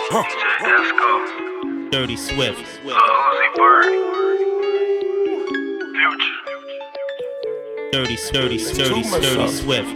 Dirty Swift. Uzi Bird. Future. Dirty Swift.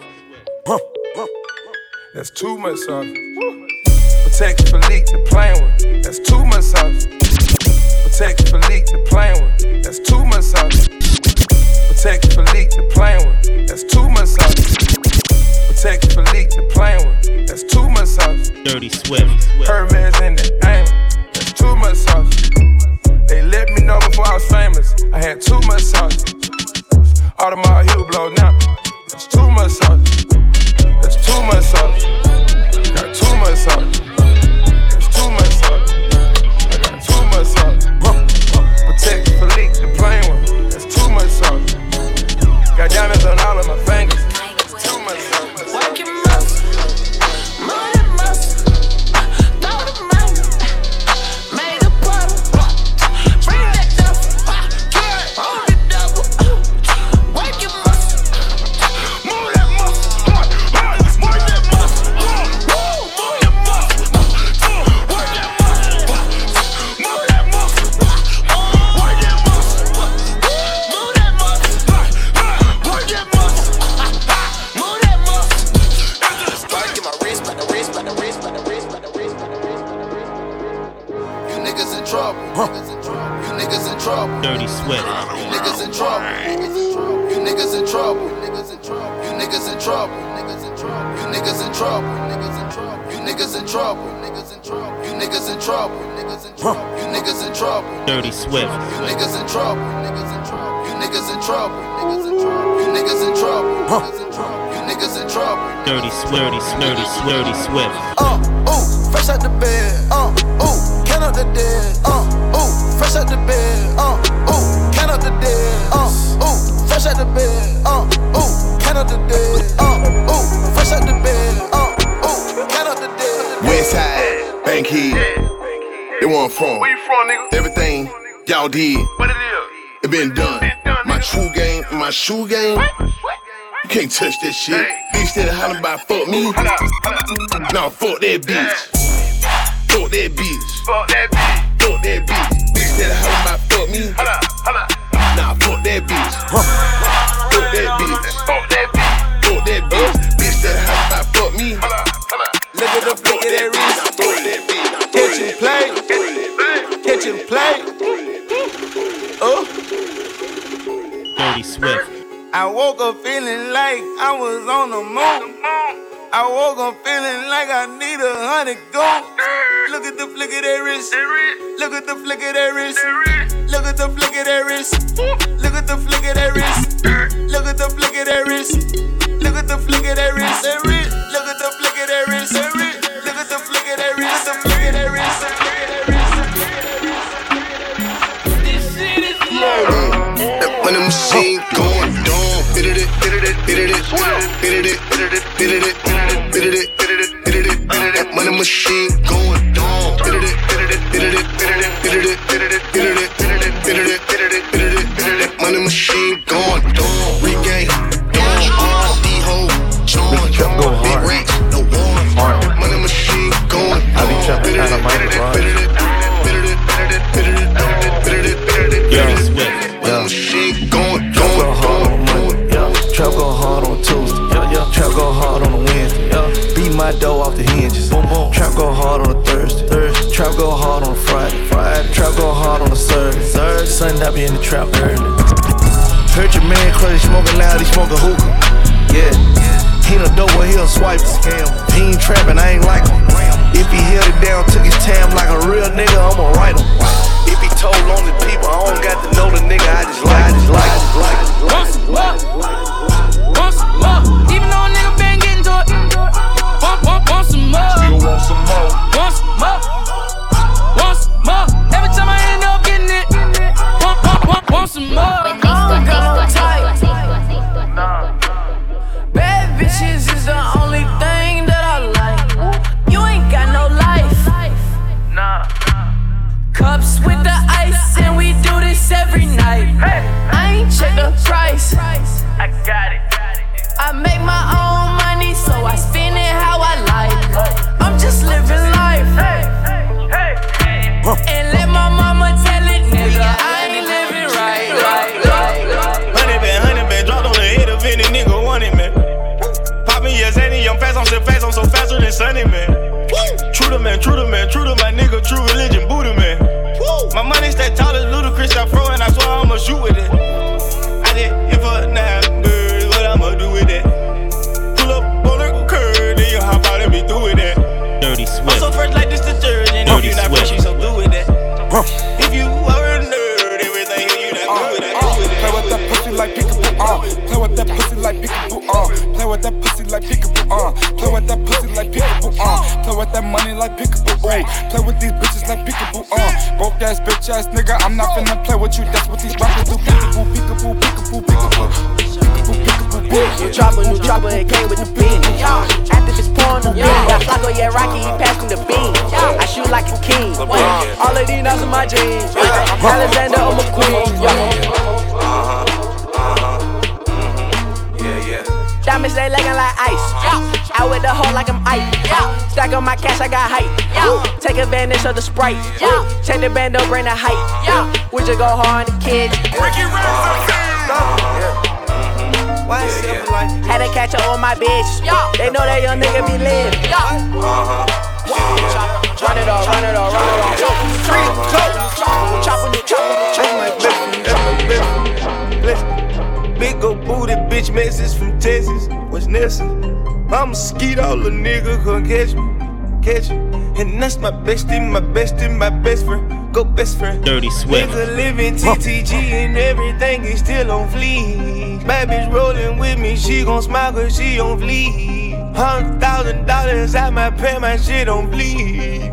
That's too much sauce. Protect for leak the plain one. That's too much sauce. Protect for leak the plain one. That's too much sauce. Protect for leak the plain one. That's too much sauce. Protect for leak the plain one. That's too much sauce. Dirty Swift. Hermes in the aim. That's too much sauce. They let me know before I was famous. I had too much sauce. Audemars heel blow now. That's too much sauce. That's too much sauce. Got too much sauce. That's too much sauce. I got too much sauce. Protect for leak the plain one. That's too much sauce. Got diamonds on all of my fingers. Too much sauce. Work your muscle, move that muscle, throw the money, made a puddle, bring that duffel, hold the double, work your muscle, move that muscle, work that muscle, move your muscle, work that muscle, move that muscle, work that muscle, move that muscle, work that muscle. You niggas in trouble. You niggas in trouble. Dirty Swift. You niggas in trouble. You niggas in trouble. You niggas in trouble. You niggas in trouble. You niggas in trouble. You niggas in trouble. You niggas in trouble. You niggas in trouble. Dirty Swift. You niggas in trouble. You niggas in trouble. You niggas in trouble. You niggas in trouble. Dirty Swift. Ooh, fresh out the bed. Ooh, count up the dead. Ooh, fresh out the bed. Ooh, count up the dead. Ooh, fresh out the bed. Ooh, count up the dead. Ooh, fresh out the bed. Ooh, count up the dead. Westside, Bankhead. They where I'm from. Where you from, nigga? Everything y'all did, What it is? it been done. My nigga. true game, my shoe game. You can't touch that shit. Bitch that hollering about fuck me. Nah, fuck that bitch. Fuck that bitch. Fuck that bitch. Fuck that bitch. Bitch that hollering about fuck me. Hold up. Nah, fuck that bitch. Fuck that bitch. Fuck that bitch. Fuck that bitch. Bitch that hollering about fuck me. Hold up. Look at the flick of that wrist. Fuck that bitch. Catch and play. Catch and play. Dirty Swift. I woke up feeling like I was on the moon. I woke up feeling like I need 100 gold. Look at the flick of that wrist. Look at the flick of that wrist. Look at the flick of that wrist. Look at the flick of that wrist. Look at the flick of that wrist. Look at the flick of that wrist. Look at the flick of that wrist. Look at the flick of that wrist. The flick of that wrist. This shit is low. When the machine going dumb, bit it, when the machine going dumb, when the machine going dumb, regain, D-hole, join, big racks, no one, when the machine going dumb, Dirty Swift. machine going Trap go hard on Monday, trap go hard on Tuesday, trap go hard on a Wednesday, beat my dough off the hinges, trap go hard on a Thursday, trap go hard on a Friday, trap go hard on a Saturday, Sunday I be in the trap early. Heard your man cause he smoking loud, he smoking hookah, yeah. He done dope where he'll swipe him. He ain't trapping, I ain't like him. If he held it down, took his time like a real nigga, I'ma write him. If he told on the people, I don't got to know the nigga, I just like him. Want some more? Want some more? Even though a nigga been getting to it. Want some more? Still want some more. Want some more? Want some more? Every time I end up getting it. Want some more? I don't got no type. Bad bitches is the only thing that I like. You ain't got no life. Nah. Cups with the ice, and we do this every night. I ain't check the price. I money, I'm fast, I'm so faster than Sunny, man. True to man, my nigga, true religion, Buddha, man. My money stay tall as Ludacris, I throw and I swear I'ma shoot with it. I did it for 9 birds, what I'ma do with that? Pull up on the curb, then you hop out and be through with that. Dirty Swift. I'm so fresh like this detergent, if you not fresh, you so through with that. If you are a nerd, everything you not through with that. Play with that pussy like peekaboo, play with that pussy like peekaboo, play with that pussy like peekaboo, play with that pussy like peekaboo, play with that money like peekaboo, play with these bitches like peekaboo, broke ass bitch ass nigga, I'm not finna play with you, that's what these rappers do, peekaboo, peekaboo, peekaboo, peekaboo, peekaboo, peekaboo. New chopper, it came with the beam. After this porn, got Flacco, yeah, Rocky, he passed me the beam. I shoot like a king. All of these nuts in my jeans. Alexander, I'm a queen. Diamonds, they looking like ice. Out with the hoe like I'm ice. Stack on my cash, I got hype. Take advantage of the Sprite. Check the band up, bring the hype. We just go hard on the kids. Had to catch up on my bitch. They know that young nigga be lit. Run it off, run it off, run it off. Chop. Big ol' booty bitch message from Texas. What's next? I'ma skeet all the nigga come catch me. And that's my bestie, my best friend. Go best friend. Dirty Swift. Nigga living TTG and everything is still on fleek. Bad bitch rolling with me, she gon' smile cause she on fleek. $100,000 out my pay, my shit on bleed.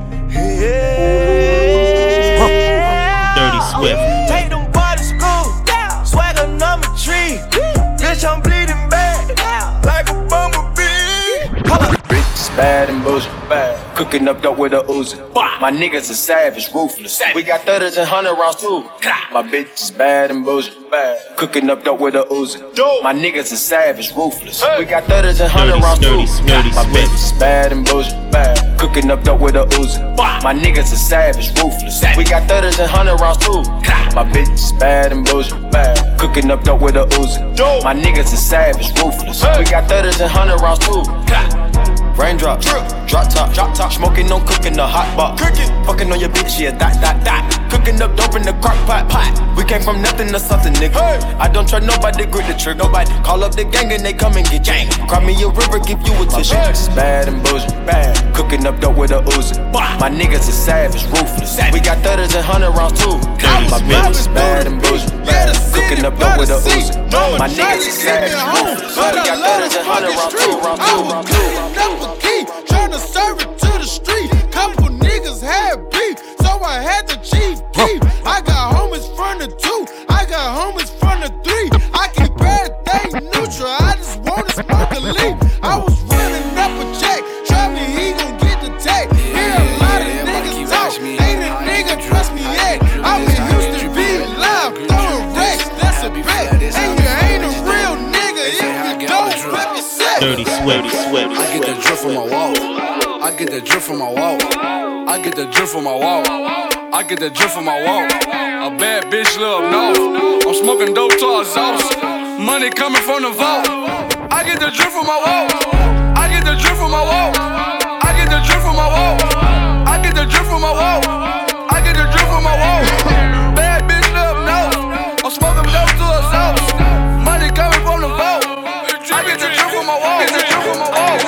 Dirty Swift. Take them boys to school, swagger number 3. Bitch, I'm bleeding bad, like a bumblebee. Bitch, bad and bullshit, bad. Cooking up dope with a Uzi. My niggas are savage, ruthless. We got 30s and 100 rounds too. My bitch is bad and bullshit, bad. Cooking up dope with a Uzi. My niggas are savage, ruthless. We got 30s and 100 rounds too. My bitch is bad and bullshit, bad. Cooking up dope with a Uzi. My niggas are savage, ruthless. We got 30s and 100 rounds too. My bitch is bad and bullshit, bad. Cooking up dope with a Uzi. My niggas are savage, ruthless. We got 30s and 100 rounds too. Raindrops, drop top, smoking, no cooking the hot box. Fucking on your bitch, yeah, that. Cooking up dope in the crock pot. We came from nothing to something, nigga. I don't try nobody, grip the trick. Nobody call up the gang and they come and get gang. Cry me a river, give you a tissue. My bitch is bad and bullshit, bad. Cooking up dope with a Uzi. My niggas is savage, ruthless. We got 30s and 100 rounds too. My bitch is bad and bullshit, bad. Cooking up dope with a Uzi. My niggas is savage, ruthless. We got 30s and 100 rounds too. Tryna serve it to the street. Couple niggas had beef, so I had the chief keep. I got homies from the 2, I got homies from the 3. I keep everything neutral, I just wanna smoke a leaf. I was running up a check, try me, he gon' get the tag. Hear a lot of niggas talk, ain't a nigga trust me yet. I'm in Houston, be loud, throwing racks, that's a bet. And you ain't a real nigga if you don't rep your set. Dirty Swift. I get the drip from my wall. I get the drip from my wall. I get the drip from my wall. I get the drip from my wall. A bad bitch live up north. I'm smoking dope to our sauce. Money coming from the vault. I get the drip from my wall. I get the drip from my wall. I get the drip from my wall. I get the drip from my wall. I get the drip from my wall. Bad bitch live up north. I'm smoking dope to our sauce. Money coming from the vault. I get the drip from my wall. Get the drip from my wall.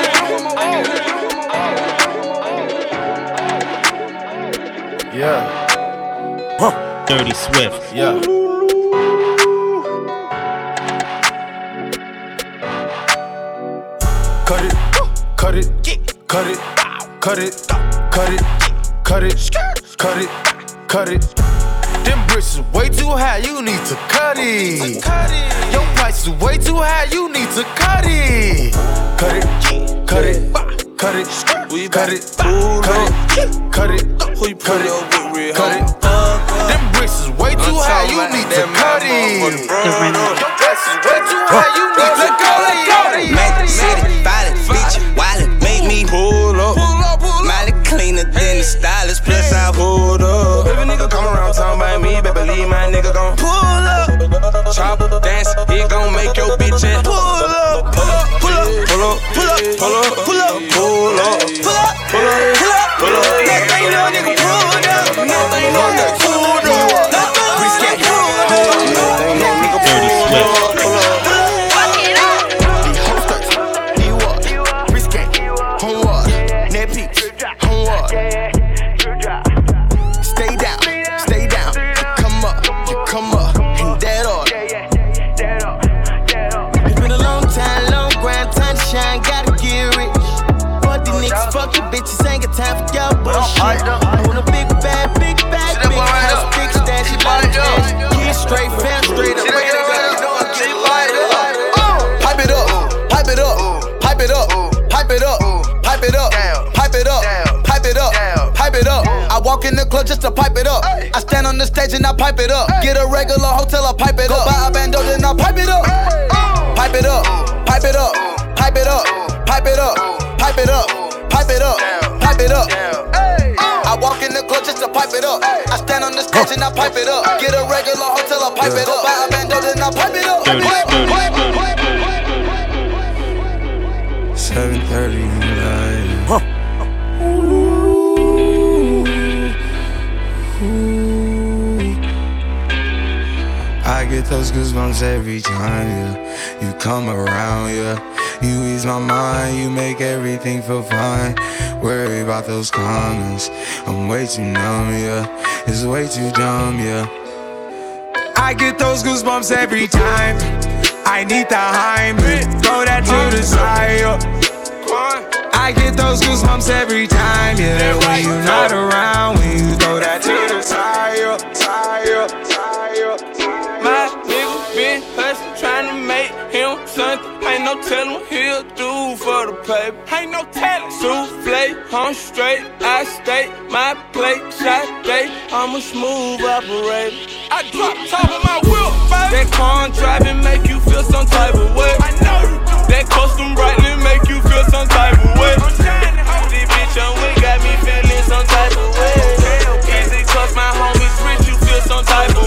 Yeah. Dirty Swift. Yeah. Cut it, cut it, cut it, cut it, cut it, cut it, cut it, cut it. Them bricks is way too high, you need to cut it. Your price is way too high, you need to cut it. Cut it, cut it, cut it, cut it, cut it, cut it, cut it, cut it. Them bricks is way too high, you need to cut it. Your price is way too high, you need to cut it. Make the city, violent, bitch, wildin', make me pull up. Molly cleaner than the stylist, plus I pulled up. If a nigga come around talking about me, better believe my nigga gon' pull up. Chop, dance, he gon' make your bitch ass pull up. Pull up, pull up, pull up, pull up, pull up. pull up, pull up, pull up, pull up, pull up, pull up. That thing little nigga pulled up. That thing little nigga pulled up. That thing pulled up. Dirty Swift. Bitches ain't got time for y'all bullshit. I want a big bag, big house, big stash, she bought it up. Keys straight, fam straight up. Pipe it up, pipe it up, pipe it up, pipe it up, pipe it up, pipe it up, pipe it up, pipe it up. I walk in the club just to pipe it up. I stand on the stage and I pipe it up. Get a regular hotel, I pipe it up. Go buy a bando, then I pipe it up. Pipe it up, pipe it up, pipe it up, pipe it up, pipe it up. Pipe it up, pipe it up. I walk in the club just to pipe it up. I stand on the stage and I pipe it up. Get a regular hotel, I pipe it up. Buy a bando, then I pipe it up. 7:30 in the night. I get those goosebumps every time, yeah. You come around, yeah. You ease my mind, you make everything feel fine. Worry about those comments, I'm way too numb, yeah. It's way too dumb, yeah. I get those goosebumps every time. I need the Heimlich, throw that to the side, yeah. I get those goosebumps every time, yeah. When you're not around, when you throw that to the side, yeah. My nigga been hustlin', tryna make him something. Ain't no tellin' he'll do for the paper. Ain't no tellin'. Souffle, I'm straight, I stay. My plate, shot day. I'm a smooth operator. I drop top of my wheel, baby. That car driving make you feel some type of way. I know you do. That custom brightly make you feel some type of way. I'm trying to hold this bitch on, we got me feeling some type of way. Easy cause my homies rich, you feel some type of way.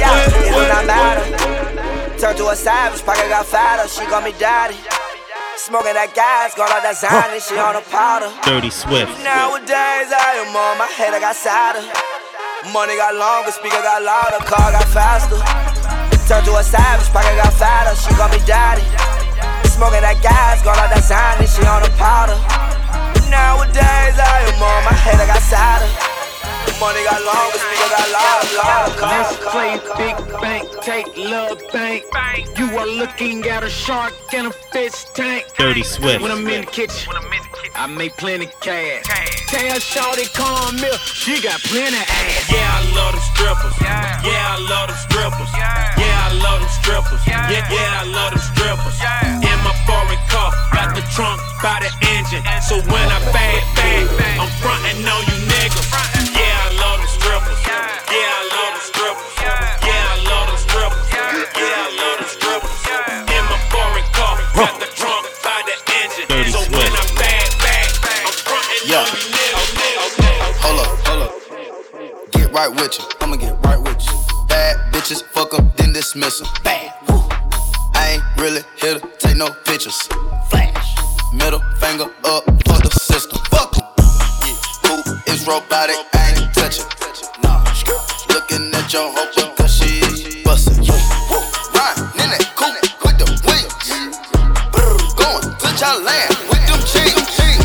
Turned to a savage, pocket got fatter, she got me daddy. Smoking that gas, got all that Zany, she on a powder. Dirty Swift. Nowadays I am on my head, I got sadder. Money got longer, speaker got louder, car got faster. Turned to a savage, pocket got fatter, she got me daddy. Smoking that gas, got all that Zany, she on a powder. Nowadays I am on my head, I got sadder. Money got longer, speaker got louder. Let's play big bank, take love bank. You are looking at a shark in a fish tank. Dirty Swift. When I'm in the kitchen, I make plenty cash. Tell Shawty come here, she got plenty ass. Yeah, I love them strippers. Yeah, I love them strippers. Yeah, I love them strippers. Yeah, I love them strippers. In my foreign car, got the trunk by the engine. So when I bang, I'm frontin' on you niggas. Yeah, I love them strippers. Yeah, I love them strippers. Yeah, I love them strippers. Yeah, I love them strippers. In my foreign car, got the trunk by the engine. So when I bang, I'm frontin' on you niggas. Hold up. Get right with you. I'ma get right with you. Bad bitches, fuck them, then dismiss them. Bad. Woo. I ain't really here to take no pictures. Flash. Middle finger up, fuck the system. Fuck 'em. Who is robotic? I ain't touching. Nah. Looking at your hoe because she bustin'. Riding in that coupe with the wheels. Going to your land with them cheeks.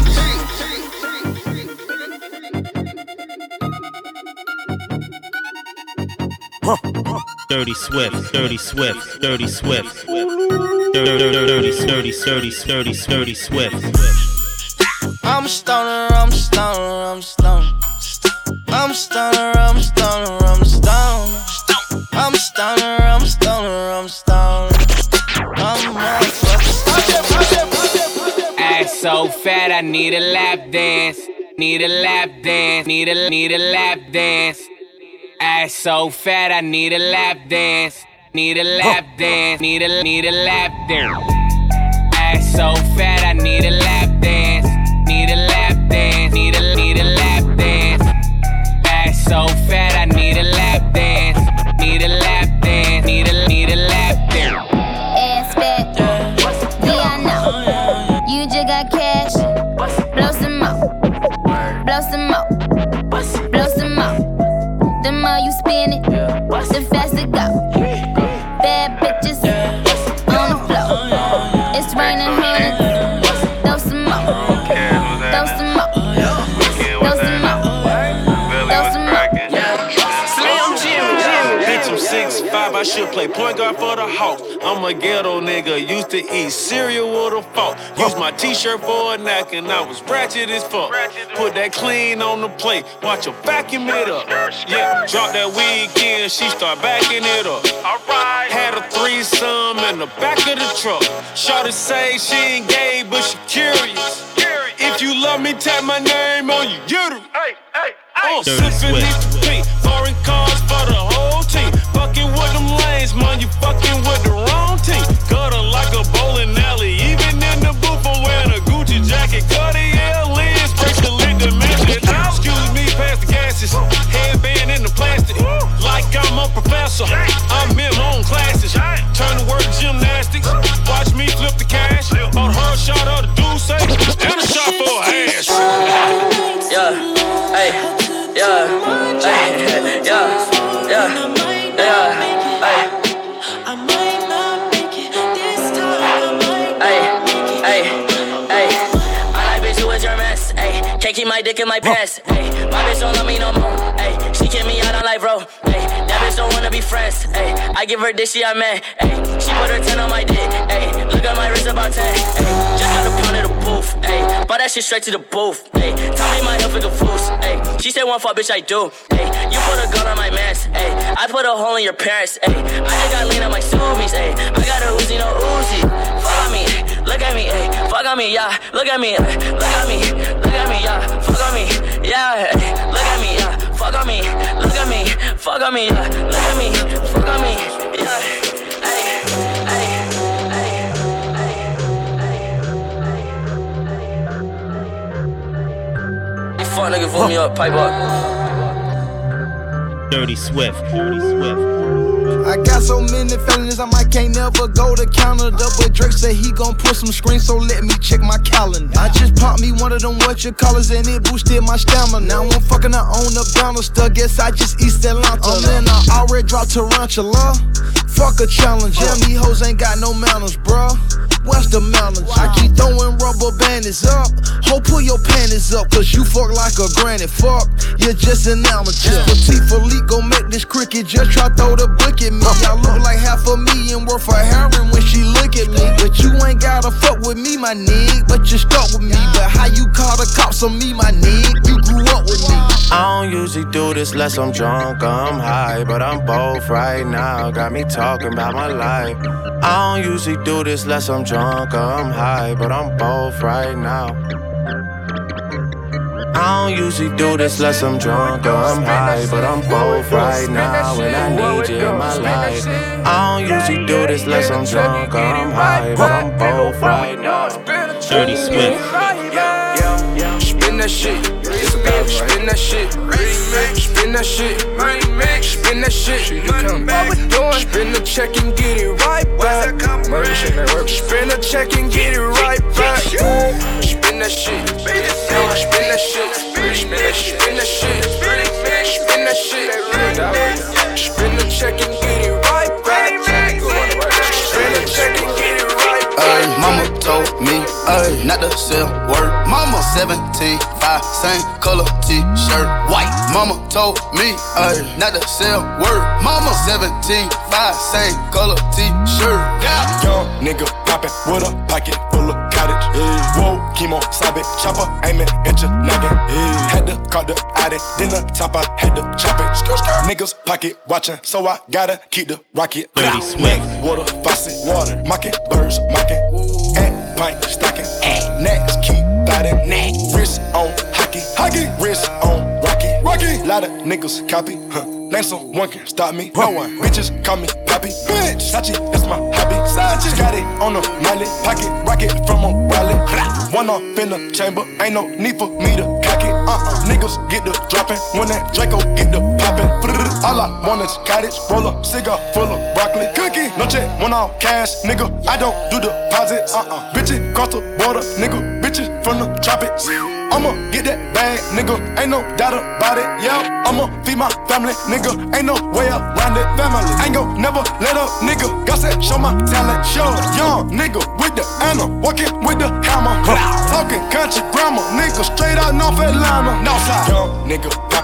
Dirty Swift, Dirty Swift, Dirty Swift. Dirty Swift. I'm a stoner, I'm a stoner, I'm a stoner. I'm a stoner, I'm a stoner, I'm a stoner. I'm a stoner, I'm a stoner, I'm a stoner. I'm a motherfucker. Ass so fat, I need a lap dance. Need a lap dance. Need a lap dance. Ass so fat, I need a lap dance. Need a lap dance. Need a lap dance. Ass so fat, I need a lap dance. Need a lap dance. Need a lap dance. Ass so fat, I need a lap dance. Need a lap dance. Need a lap dance. Ass fat, yeah I know. You just got cash. I should play point guard for the Hawks. I'm a ghetto nigga, used to eat cereal with a fork. Use my t-shirt for a napkin, I was ratchet as fuck. Put that clean on the plate, watch her vacuum it up. Yeah, drop that weekend, she start backing it up. Had a threesome in the back of the truck. Shawty say she ain't gay, but she curious. If you love me, tap my name on your uterus. Sipping these pink foreign cars for the whole team. Fucking with them lanes, man, you fucking with the wrong team. Gutter like a bowling alley, even in the booth I'm wearing a Gucci jacket. Cartier lens, bracelet dimension. Excuse me, pass the gases. Headband in the plastic, like I'm a professor. I'm in my own classes. Turn to work gymnastics. Watch me flip the cash. On her shot of the Douce, and a shot for her ass. Yeah, hey, yeah, hey, yeah, yeah, yeah, hey. Can't keep my dick in my pants. Ay, my bitch don't love me no more. Ay, she kick me out on life, bro. Ay, that bitch don't wanna be friends. Ay, I give her dick, she I man. Ay, she put her 10 on my dick. Ay, look at my wrist about 10. Ay, just got a pound of the booth. Ay, bought that shit straight to the booth. Ay, tell me my health is a fool. Ay, she said one fuck, bitch, I do. Ay, you put a gun on my mans. Ay, I put a hole in your parents. Ay, I just got lean on my zoomies. Ay, I got a Uzi, no Uzi. Fuck on me, look at me. Ay, fuck on me, yeah. Look at me, look at me, look at me, yeah. Fuck on me, yeah. Look at me, yeah. Fuck on me, look at me. Fuck on me, yeah. Look at me, fuck on me, yeah. Hey, hey, hey. Fuck nigga, pull me up, pipe up. Dirty Swift, Dirty Swift. I got so many felonies, I might can't never go to Canada. But Drake said he gon' put some screens, so let me check my calendar. I just popped me one of them whatchamacallits and it boosted my stamina. Now I'm fucking her on the Bannister, guess I just East Atlanta. Then I already dropped Tarantula. Fuck a challenge, yeah, me hoes ain't got no manners, bruh. What's the manners? I keep throwing rubber bandits up. Ho, pull your panties up, cause you fuck like a granny. Fuck, you're just an amateur. Petite Philippe gon' make this cricket, just try throw the book at me. I look like $500,000 worth of heroin when she look at me. But you ain't gotta fuck with me, my nigga, but you stuck with me. But how you call the cops on me, my nigga? You grew up with me. I don't usually do this unless I'm drunk or I'm high, but I'm both right now. Got me talking about my life. I don't usually do this unless I'm drunk or I'm high, but I'm both right now. I don't usually do this unless I'm drunk or I'm high, but I'm both right now and I need you in my life. I don't usually do this unless I'm drunk or I'm high, but I'm both right now. Dirty Swift. Spin that shit, spin that shit, spin that shit, spin that shit. You come back, spin the check and get it right back. Spin the check and get it right back. Spin that shit, spin that shit, spin that shit, spin that shit, spin that shit. Spin the check and get it right back. Spin the check and get it right back. Mama told me, not to sell word. Mama 17, 5, same color t-shirt, white. Mama told me, not to sell word. Mama 17, 5, same color t-shirt. Yeah. Young nigga poppin' with a pocket full of cottage. Whoa, chemo, sabe, chopper, aiming at your noggin. Had to call the addy, then the top I had to chop it. Niggas pocket watchin', so I gotta keep the rocket. Dirty Swift. Water, faucet, water, mocking, birds, mocking. And pint, stocking, next keep biting. Wrist on hockey, wrist on rocky. Lot of niggas copy, name someone can stop me. No one, bitches call me Poppy. Bitch, Sachi, that's my hobby. Sachi, got it on the mallet, pocket rocket from a wallet. One off in the chamber, ain't no need for me to cock it. Niggas get the dropping when that Draco get the popping. All I want is cottage, roll up, cigar full of broccoli. Cookie, no check, one off cash, nigga. I don't do deposits. Bitches cross the border, nigga. Bitches from the tropics. I'ma get that bag, nigga. Ain't no doubt about it. Yeah, I'ma feed my family, nigga. Ain't no way around it. Family, ain't gon' never let up, nigga. God said, show my talent, show. Young nigga with the Anna, walking with the hammer. Talking country grammar, nigga. Straight out North Atlanta. Northside. Young nigga poppin'.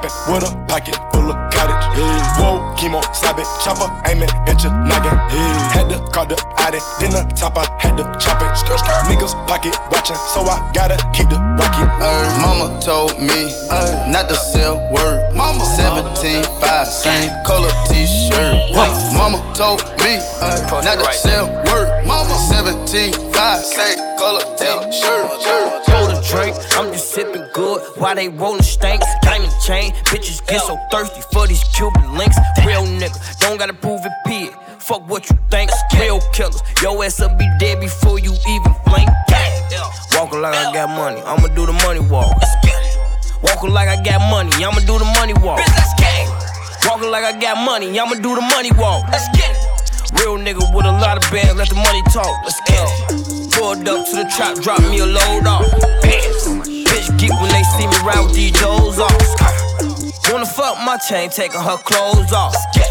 Hoppin' with a pocket full of cottage. Whoa, chemo, slap it, chopper, aim it, at your noggin. Had to call the Audi, then the top, I had to chop it. Niggas pocket watching, so I gotta keep the rocket. Mama told me not to sell word. Mama 17.5, same color t-shirt. Mama told me not to sell word. Mama 17.5, same color t-shirt. Pour the drink, I'm just sipping good while they rollin' stanks. Diamond chain, bitches get so thirsty for these Cuban links. Real nigga, don't gotta prove it, pig. Fuck what you think, real killers. Your ass will be dead before you even blink. Walking like I got money, I'ma do the money walk. Walking like I got money, I'ma do the money walk. Walking like I got money, I'ma do the money walk. Real nigga with a lot of bands, let the money talk. Let's get it. Pulled up to the trap, drop me a load off. Bitch geek when they see me ride with these doors off. Wanna fuck my chain, taking her clothes off.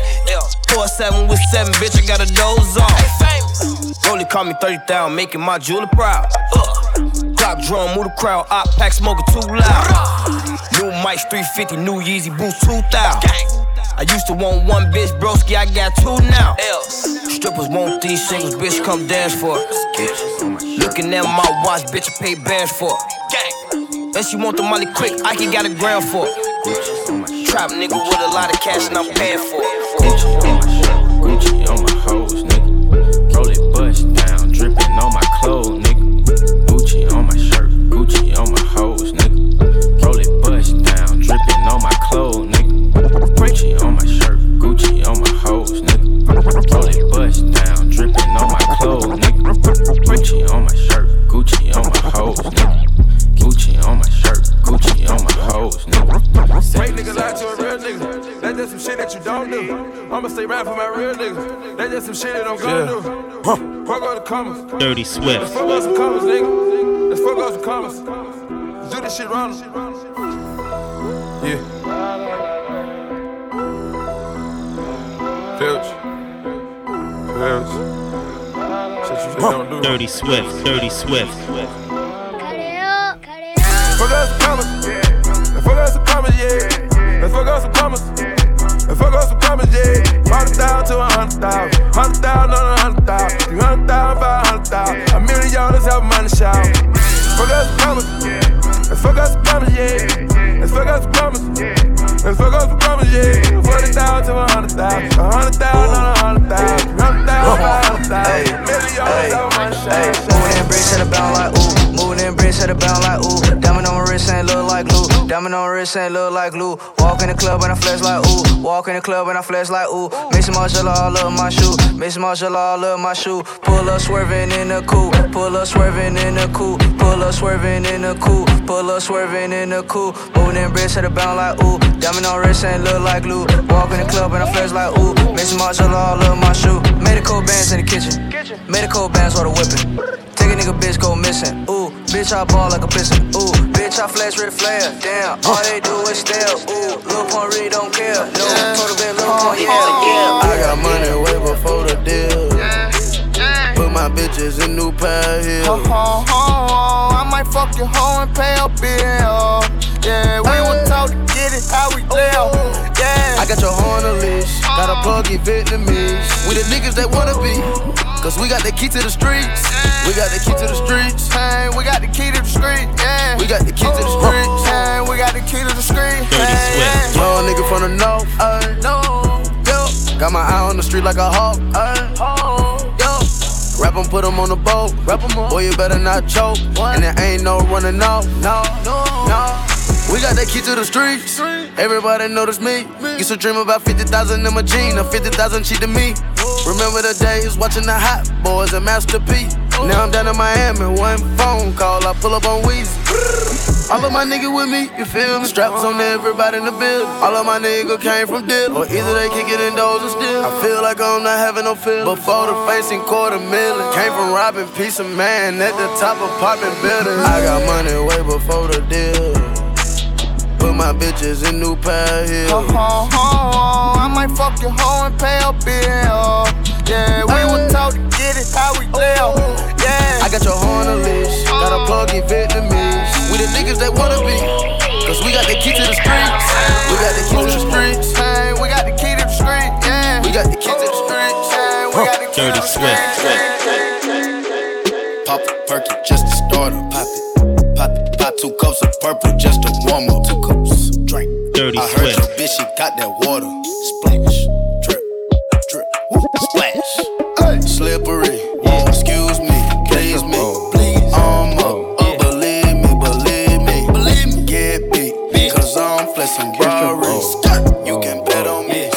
4-7 with 7, bitch, I got a doze off. Rolly call me 30,000, making my jeweler proud. Clock drum, move the crowd, op pack smoking too loud. New mics 350, new Yeezy boots 2,000. I used to want one bitch, broski, I got two now. Strippers want these singles, bitch, come dance for it. Looking at my watch, bitch, I pay bands for it. And she want the money quick, I can got a gram for it. Trap nigga with a lot of cash and I'm paying for it. Gucci on my hoes, nigga. Roll it bust down, dripping on my clothes, nigga. Gucci on my shirt, Gucci on my hoes, nigga. Roll it bust down, dripping on my clothes, nigga. Gucci on my shirt, Gucci on my hoes, nigga. Roll it bust down, dripping on my clothes, nigga. Gucci on my shirt, Gucci on my hoes, nigga. Gucci on my shirt, Gucci on my hoes, nigga. Fake nigga lie to a real nigga. That's just some shit that you don't do. I'ma stay right for my real nigga. That's just some shit that I'm gonna do. Fuck all the commas. Dirty Swift. Let's fuck out some commas, nigga. Let's fuck out some commas. Let's do this shit wrong. Yeah. Filch. Shit you just don't do. Dirty Swift. Dirty Swift. Fuck out some commas. Let's fuck out some commas, yeah. Let's fuck out some commas. Let's fuck out some commas, yeah. 100,000 to 100,000. 100,000 on 100,000. 300,000, 500,000. $1 million have money shout. Fuck out some commas. Let's fuck out some commas, yeah. Let's fuck out some commas. Let's fuck out some commas, yeah. 40,000 to 100,000. 100,000 on 100,000. 300,000, 500,000. $1 million have money shout. Moving in bricks, set it bound like ooh. Moving in bricks, set it bound like ooh. Diamond on my wrist ain't look like glue. Diamond on my wrist ain't look like glue. Walk in the club and I flex like ooh. Walk in the club and I flex like ooh. Mix some marshall all up my shoe. Mix some marshall all up my shoe. Pull up swerving in the coupe. Pull up swerving in the coupe. Pull up swerving in the coupe. Pull up swerving in the coupe. Moving in bricks, set it bound like ooh. Diamond on wrist ain't look like glue. Walk in the club and I flex like ooh. Mix some marshall all up my shoe. Medical bands in the kitchen. Medical bands for the whipping. Take a nigga bitch go missing. Ooh, bitch I ball like a piston. Ooh, bitch I flash red flare. Damn, all they do is stare. Ooh, Lil Pump really don't care. No, total bit Lil Pump, yeah. I got money way before the deal. Put my bitches in new pair of heels. I might fuck your hoe and pay a bill. Yeah, we were taught to get it how we live. Yeah, I got your hoe on a leash. Got a pluggy Vietnamese. We the niggas that wanna be. Cause we got the key to the streets. We got the key to the streets. Hey, we got the key to the street. Yeah, we got the key to the streets. Hey, we got the key to the street. Dirty Swift. Young nigga from the north. Yo, got my eye on the street like a hawk. Yo, rap 'em, put 'em on the boat. Boy, you better not choke. And there ain't no running off. No. We got that key to the streets. Everybody notice me. Used to dream about 50,000 in my jeans. Now 50,000 cheap to me. Remember the days watching the Hot Boys and Master P. Now I'm down in Miami, one phone call, I pull up on Weezy. All of my niggas with me, you feel me? Straps on everybody in the building. All of my niggas came from Dill, or either they kick it indoors or still. I feel like I'm not having no feeling. Before the facing $250,000. Came from robbing piece of man at the top of popping buildings. I got money way before the deal. Put my bitches in new pair of heels. I might fuck your hoe and pay a bill. Yeah, we were taught to get it how we live. Yeah, I got your hoe on a leash. Got a pluggy Vietnamese. We the niggas that wanna be. Cause we got the key to the streets. We got the key to the streets. Hey, we got the key to the streets. Yeah. We got the key to the streets. Hey, we got the key to the streets. Pop a perky just to start up. Pop it. Pop 2 cups of purple just to warm up. 2 cups. Drink. Dirty I heard Swift. your bitch, she got that water. Splash. Drip. Drip. Woo. Splash. Hey. Slippery. Yeah. Excuse me. Please me. Please. Believe me. Get beat. Cause I'm flexing Burberry's. You can bet on me.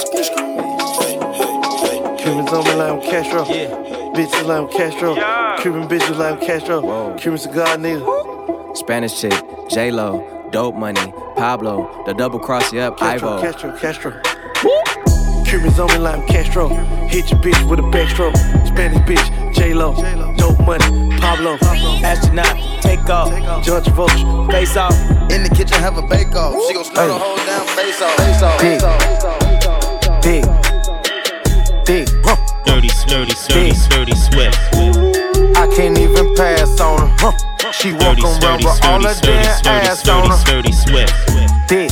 Cubans on me like I'm Castro. Bitches like I'm Castro. Cuban bitches like I'm Castro. Cuban cigar nigga. Spanish chick, J-Lo, Dope Money, Pablo, the double cross you up, Ivo. Castro. Cubans on me like I'm Castro. Hit your bitch with a backstroke. Spanish bitch, J-Lo, Dope Money, Pablo. Astronaut, take off. John Travolta, face off. In the kitchen, have a bake off. She gon' slow the whole damn face off. Big. Dirty Swift. I can't even pass on her. She walk around with all her damn ass on her. Dirty Swift. Big.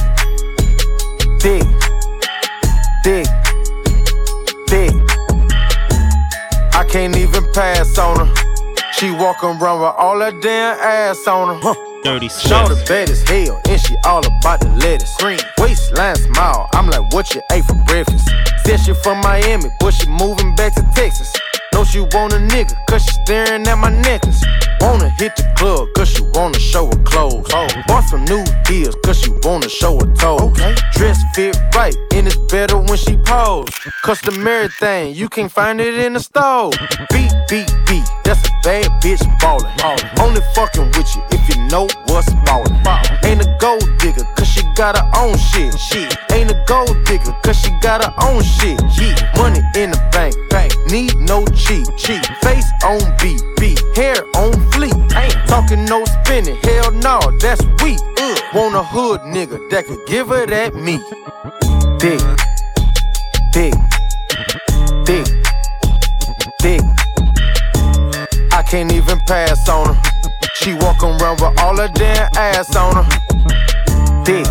I can't even pass on her. She walk around with all her damn ass on her. Dirty Show the Swift. bed as hell, and she all about the lettuce. Green waistline smile, I'm like, what you ate for breakfast? Said she from Miami, but she moving back to Texas. Know she want a nigga, cause she staring at my necklace. Wanna hit the club, cause she wanna show her clothes. Bought some new heels, cause she wanna show her toes. Dress fit right, and it's better when she pose. Customary thing, you can't find it in the store. Beat, that's a bad bitch ballin'. Only fucking with you if you know what's ballin'. Ain't a gold digger, cause she got her own shit. Ain't a gold digger, cause she got her own shit. Money in the bank, need no cheat. Face on beat, hair on fleek. Ain't talking no spinning, hell no, that's weak. Want a hood nigga that could give her that meat. Dick. I can't even pass on her. She walk around with all her damn ass on her. Dick.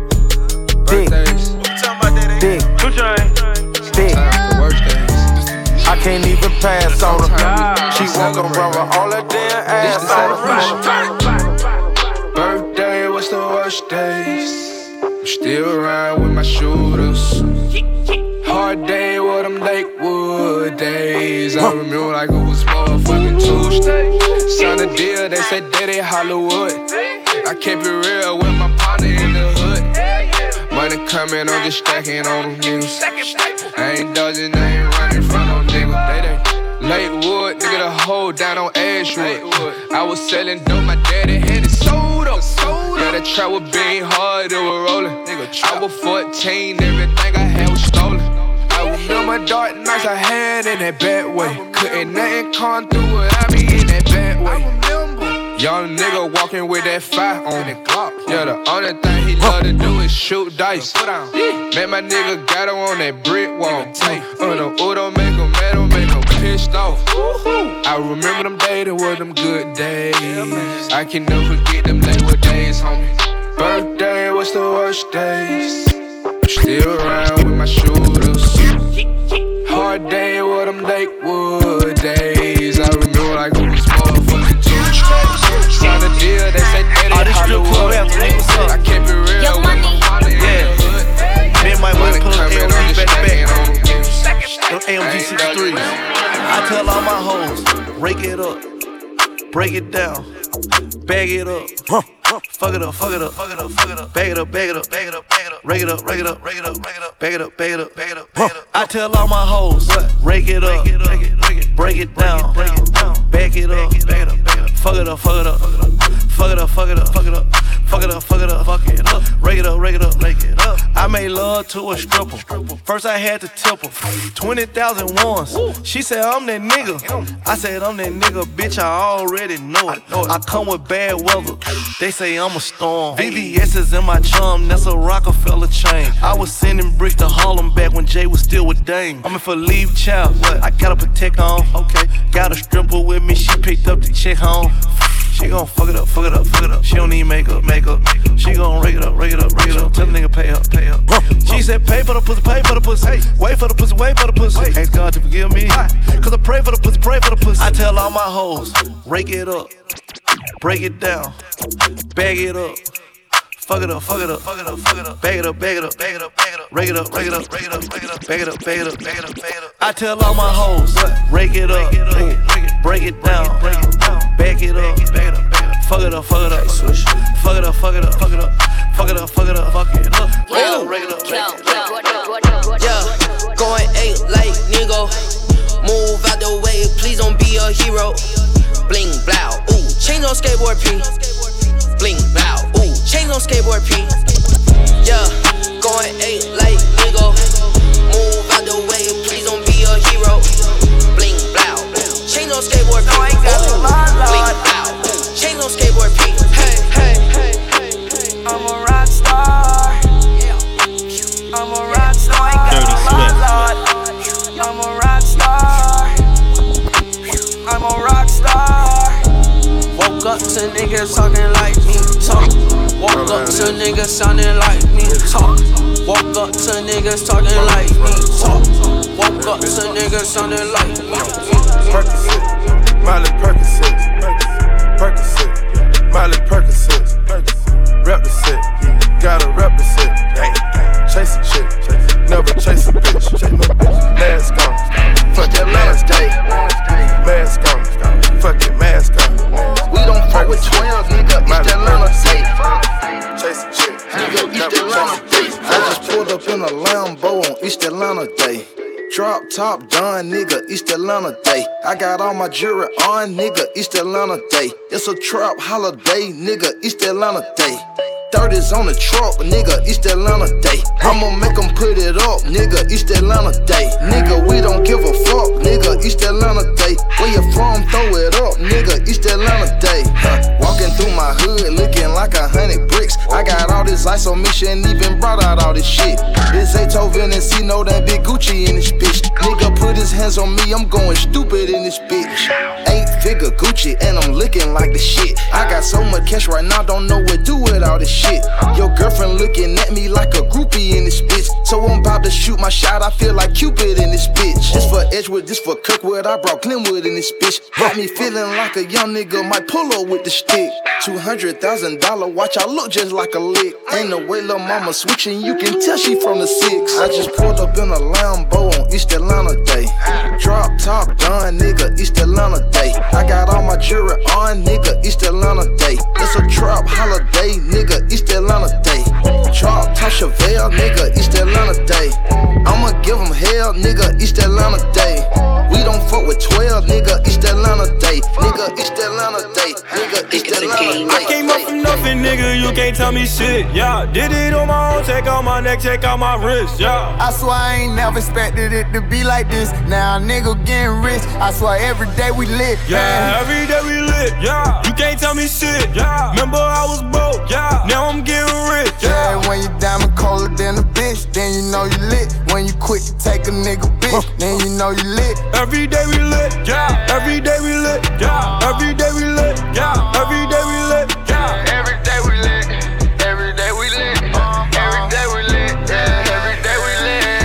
I can't even pass on her. She walk around with all her damn ass on her. Birthday, what's the worst days? I'm still around with my shooters. Hard day with them Lakewood days. I remember like it was motherfucking Tuesday. Signed a deal, they said Daddy Hollywood. I kept it real with my partner in the hood. Money coming, I'm just stacking on them niggas. I ain't dodging, I ain't running from no nigga. They Lakewood, nigga, the hoe down on Ashwood. I was selling dope, my daddy had it sold up. Yeah, that trap was being hard, it was rolling. I was 14, everything I had was stolen. I remember dark nights I had in that bad way. Couldn't nothing come through without me in that bad way. Young nigga walking with that fire on it. Yeah, the only thing he love to do is shoot dice. Met my nigga got him on that brick wall. The Udo make him mad, make him pissed off. I remember them days, that were them good days. I can never forget them Lakewood days, homie. Birthday, what's the worst days? Still around with my shooters. Hard day with them Lakewood days. I remember like it was motherfucking Tuesday. Signed a deal, they say Daddy Hollywood. I kept it real with my partner in the hood. Me and my wife pull up AMG back to back. Them AMG 63s. I tell all my hoes, rake it up, break it down, bag it up. Fuck it up, bag it up, rake it up, bag it up, I tell all my hoes, rake it up, break it down, bag it up, fuck it up, rake it up. I made love to a stripper. First I had to tip her 20,000 once. She said I'm that nigga. I said I'm that nigga, bitch. I already know it. I come with bad weather. They say I'm a storm. VVS is in my chum. That's a Rockefeller chain. I was sending bricks to Harlem back when Jay was still with Dame. I'm in for leave child. I gotta protect on. Okay. Got a stripper with me. She picked up the check home. She gon' fuck it up. She don't need makeup. She gon' rake it up. Tell the nigga pay up, pay up. She said pay for the pussy, pay for the pussy. Hey, wait for the pussy, wait for the pussy. Ask God to forgive me. Cause I pray for the pussy, pray for the pussy. I tell all my hoes, rake it up, break it down, bag it up. Fuck it up, fuck it up, fuck it up, fuck it up. Bag it up, bag it up, bag it up, bag it up. Rake it up, rake it up, rake it up, rake it up. Bag it up, bag it up, bag it up, bag it up. I tell all my hoes, rake it up, break it down, bag it up, bag it up, bag it up. Fuck it up, fuck it up, fuck it up, fuck it up, fuck it up, fuck it up, fuck it up, fuck it up. Rake it up, rake it up, rake it up. Yeah, going 8 like nigga. Move out the way, please don't be a hero. Bling blow, ooh, chains on skateboard P. Bling blow, ooh, chains on skateboard P. Yeah, going 8 like nigga. Move out the way, please don't be a hero. Bling blow, chains on skateboard P. Ooh, bling blow, chains on skateboard P. Hey, hey, hey, hey, I'm a rock star. I'm a rock star. Dirty Swift. I'm a rock star. I'm a rock star. Woke up to niggas talking like me, talk. Woke up to niggas sounding like me, talk. Woke up to niggas talking like me, talk. Woke up to niggas sounding like me. Percocet, Miley Percocet, Percocet, Miley Percocet, rep the set, gotta rep the set. Chase a chick, never chase a bitch. Mask on, fuck that last day. Mask on, fuck it, mask on. We don't fuck with 12, nigga, East Atlanta day. Chase a chick, nigga, East Atlanta day. I just pulled up in a Lambo on East Atlanta day. Drop top done, nigga, East Atlanta day. I got all my jewelry on, nigga, East Atlanta day. It's a trap holiday, nigga, East Atlanta day. 30s on the truck, nigga, East Atlanta day. I'ma make them put it up, nigga, East Atlanta day. Nigga, we don't give a fuck, nigga, East Atlanta day. Where you from, throw it up, nigga, East Atlanta day. Walking through my hood, looking like 100 bricks. I got all this ice on me, she ain't even brought out all this shit. This Beethoven and C, know that big Gucci in this bitch. Nigga put his hands on me, I'm going stupid in this bitch. 8-figure Gucci, and I'm looking like the shit. I got so much cash right now, don't know what to do with all this shit. Your girlfriend looking at me like a groupie in this bitch. So I'm about to shoot my shot, I feel like Cupid in this bitch. This for Edgewood, this for Kirkwood, I brought Glenwood in this bitch. Got me feeling like a young nigga might pull up with the stick. $200,000 watch, I look just like a lick. Ain't no way lil' mama switching, you can tell she from the 6. I just pulled up in a Lambo on East Atlanta day. Drop top done, nigga, East Atlanta day. I got all my jewelry on, nigga, East Atlanta day. It's a trap holiday, nigga, East Atlanta day. Drop top Chevelle, nigga, East Atlanta day. I'ma give them hell, nigga, East Atlanta day. We don't fuck with 12, nigga, East Atlanta day. Nigga, East Atlanta day. Nigga, East Atlanta day. I came up from nothing, nigga, you can't tell me shit, yeah. Did it on my own, check out my neck, check out my wrist, yeah. I swear I ain't never expected it to be like this. Now a nigga getting rich, I swear every day we lit, yeah. Every day we lit, yeah. You can't tell me shit, yeah. Remember I was broke, yeah. Now I'm getting rich, yeah. When you diamond colder than a bitch, then you know you lit. When you quick to take a nigga bitch, then you know you lit. Every day we lit, yeah. Every day we lit, yeah. Every day we lit, yeah. Every day we lit, yeah. Every day we lit. Every day we lit. Every day we lit. Yeah. Every day we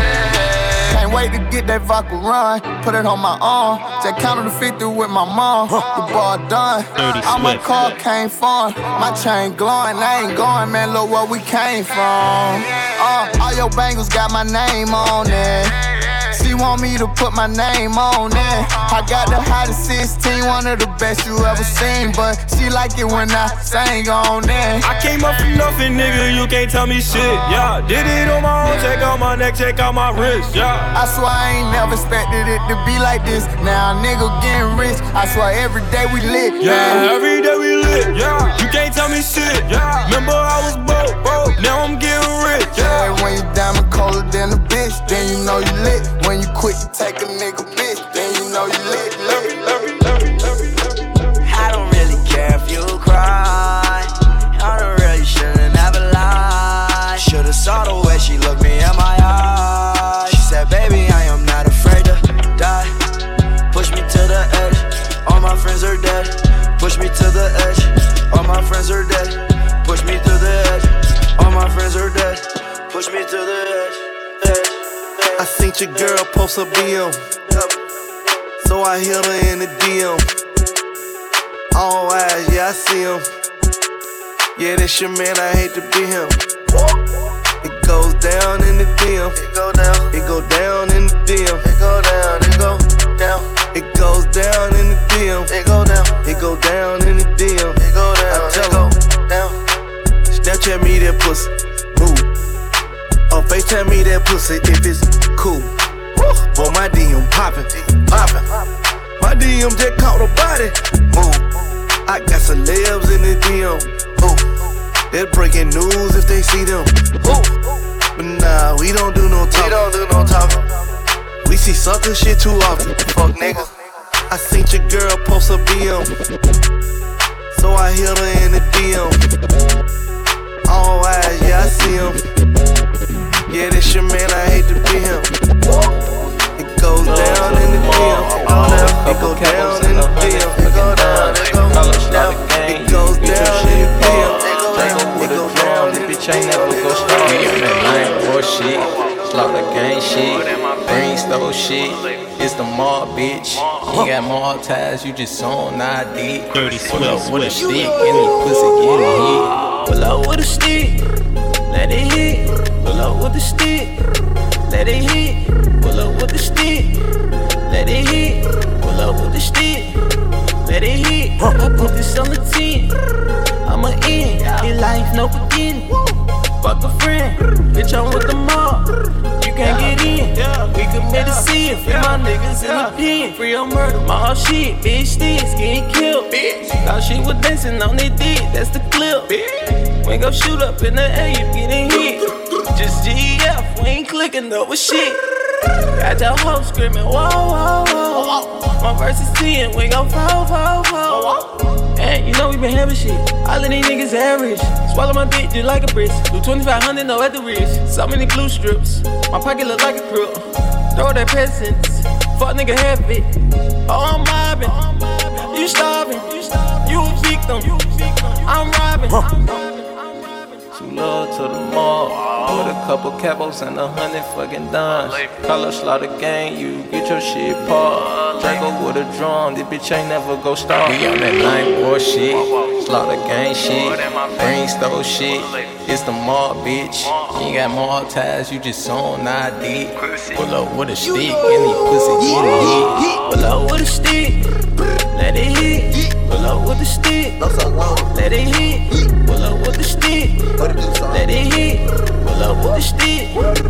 lit. Can't wait to get that vodka run, put it on my arm. Just counted the 50 with my mom. The ball done. All my car came from. My chain glowing, I ain't going, man. Look where we came from. All your bangles got my name on it. She want me to put my name on it. I got the hottest 16, one of the best you ever seen. But she like it when I sang on it. I came up from nothing, nigga, you can't tell me shit, yeah. Did it on my own, check out my neck, check out my wrist, yeah. I swear I ain't never expected it to be like this. Now a nigga getting rich, I swear every day we lit, yeah. Every day we lit, yeah. You can't tell me shit, yeah. Remember I was broke, now I'm getting rich, yeah. When you diamond colder than a bitch, then you know you lit. When you quit to take a nigga bitch, then you know you lit. I don't really care if you cry. I don't really shouldn't ever lie. Should've saw the way she looked me in my eyes. She said, baby, I am not afraid to die. Push me to the edge, all my friends are dead. Push me to the edge, all my friends are dead. Push me to the edge, all my friends are dead. I seen your girl post a BM, so I hit her in the DM. All eyes, yeah, I see him. Yeah, that's your man, I hate to be him. It goes down in the DM. It go down. It go down in the DM. It go down. It go down. It goes down in the DM. It go down. It go down in the DM. It go down. I tell her down. Snapchat me that pussy. Move. Or FaceTime me that pussy if it's cool. Boy, my DM poppin'. My DM just caught a body. Move. I got celebs in the DM. They're breaking news if they see them. But nah, we don't do no talking. We see sucker shit too often. Fuck niggas. I seen your girl post a BM, so I hit her in the DM. All eyes, yeah, I see him. Yeah, that's your man, I hate to be him. It goes down in the DM. It go down in the DM. It go down. It goes down. It goes down in the DM. With a drum, the bitch ain't never go start. We on that line for shit, slaughter gang shit, green stove shit. It's the mob, bitch. You got mob ties, you just on ID. Pull up with a stick, any pussy getting hit. Pull up with a stick, let it hit. Pull up with the stick, let it hit. Pull up with the stick, let it hit. Pull up with the stick, let it hit. I put this on the 10. I'm a in, your life no beginning. Fuck a friend, bitch, I'm with the mob. You can't get in, we committed sin. Free my niggas in the pen. Free on murder, my whole shit. Bitch, sticks getting killed. Thought she was dancing on their dick, that's the clip. We gon' shoot up in the air, you getting hit. Just GF, we ain't clicking up with shit. Got your hoe screaming, whoa, whoa, whoa. My verse is 10, we gon' fall. And you know we been having shit. All of these niggas average. Swallow my dick just like a brick. Do 2,500, no at the wrist. So many glue strips. My pocket look like a crook. Throw that presents. Fuck nigga have it. Oh, I'm mobbing. You starving. You a victim. I'm robbing. Too low to the mall. With a couple capos and 100 fucking dimes. Call up Slaughter Gang, you get your shit paused. Drago with a drum, this bitch ain't never go start. We on that 9-4 shit, Slaughter Gang shit, green stove shit. It's the mob, bitch. You ain't got mob ties, you just on ID. Pull up with a stick, any pussy getting hit. Pull up with a stick, let it hit. Pull up with the stick, let it hit. Pull up with the stick, let it hit. Pull up with the stick,